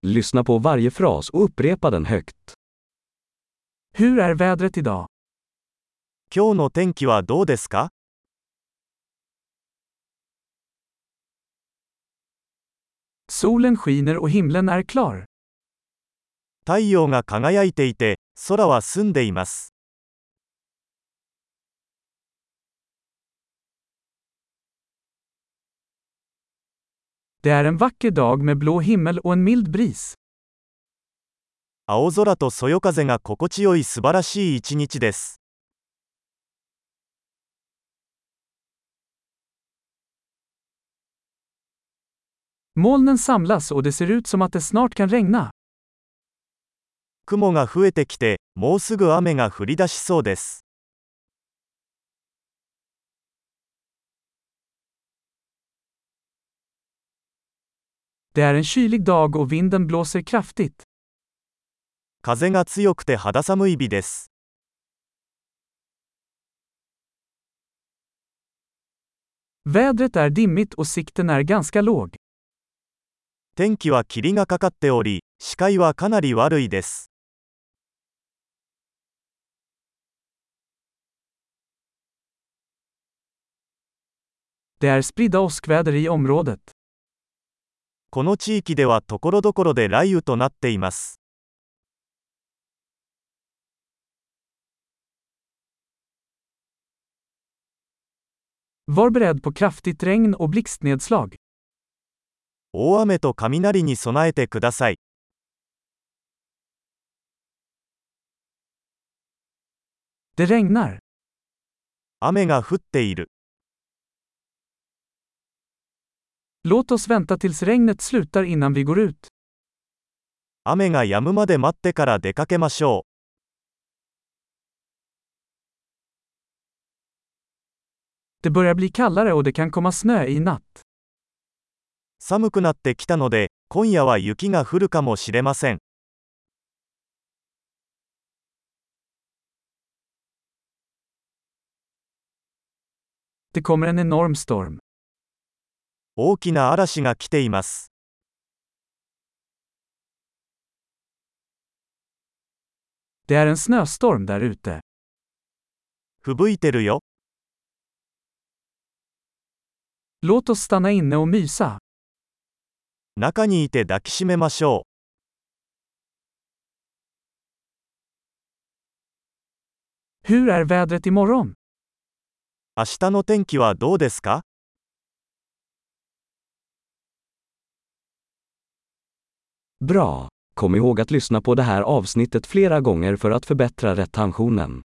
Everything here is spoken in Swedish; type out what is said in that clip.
Lyssna på varje fras och upprepa den högt. Hur är vädret idag? 今日の天気はどうですか？ Solen skiner och himlen är klar. 太陽が輝いていて、空は澄んでいます。 Det är en vacker dag med blå himmel och en mild bris. 青空とそよ風が心地よい素晴らしい一日です。 Molnen samlas och det ser ut som att det snart kan regna. 雲が増えてきて、もうすぐ雨が降り出しそうです。 Det är en kylig dag och vinden blåser kraftigt. 風が強くて肌寒い日です。 Vädret är dimmigt och sikten är ganska låg. 天気は霧がかかっており、視界はかなり悪いです。 Det är spridda åskväder i området. この地域では所々で雷雨となっています。 Var beredd på kraftigt regn och blixtnedslag. 大雨と雷に備えてください。 Det regnar. 雨が降っている。 Låt oss vänta tills regnet slutar innan vi går ut. 雨が止むまで待ってから出かけましょう。 Det börjar bli kallare och det kan komma snö i natt. 寒くなってきたので、今夜は雪が降るかもしれません。 Det kommer en enorm storm. 大きな嵐が来ています。 Det är en snöstorm där ute. 吹雪いてるよ。 Låt oss stanna inne och mysa. 中にいて抱きしめましょう。 Hur är vädret imorgon? 明日の天気はどうですか？ Bra! Kom ihåg att lyssna på det här avsnittet flera gånger för att förbättra retentionen.